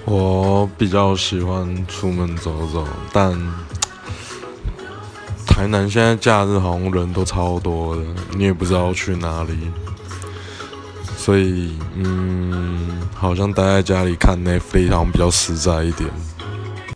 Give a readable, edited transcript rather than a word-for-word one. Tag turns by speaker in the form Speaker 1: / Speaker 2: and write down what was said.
Speaker 1: 我比较喜欢出门走走，但台南现在假日好像人都超多的，你也不知道去哪里，所以好像待在家里看 Netflix 好像比较实在一点。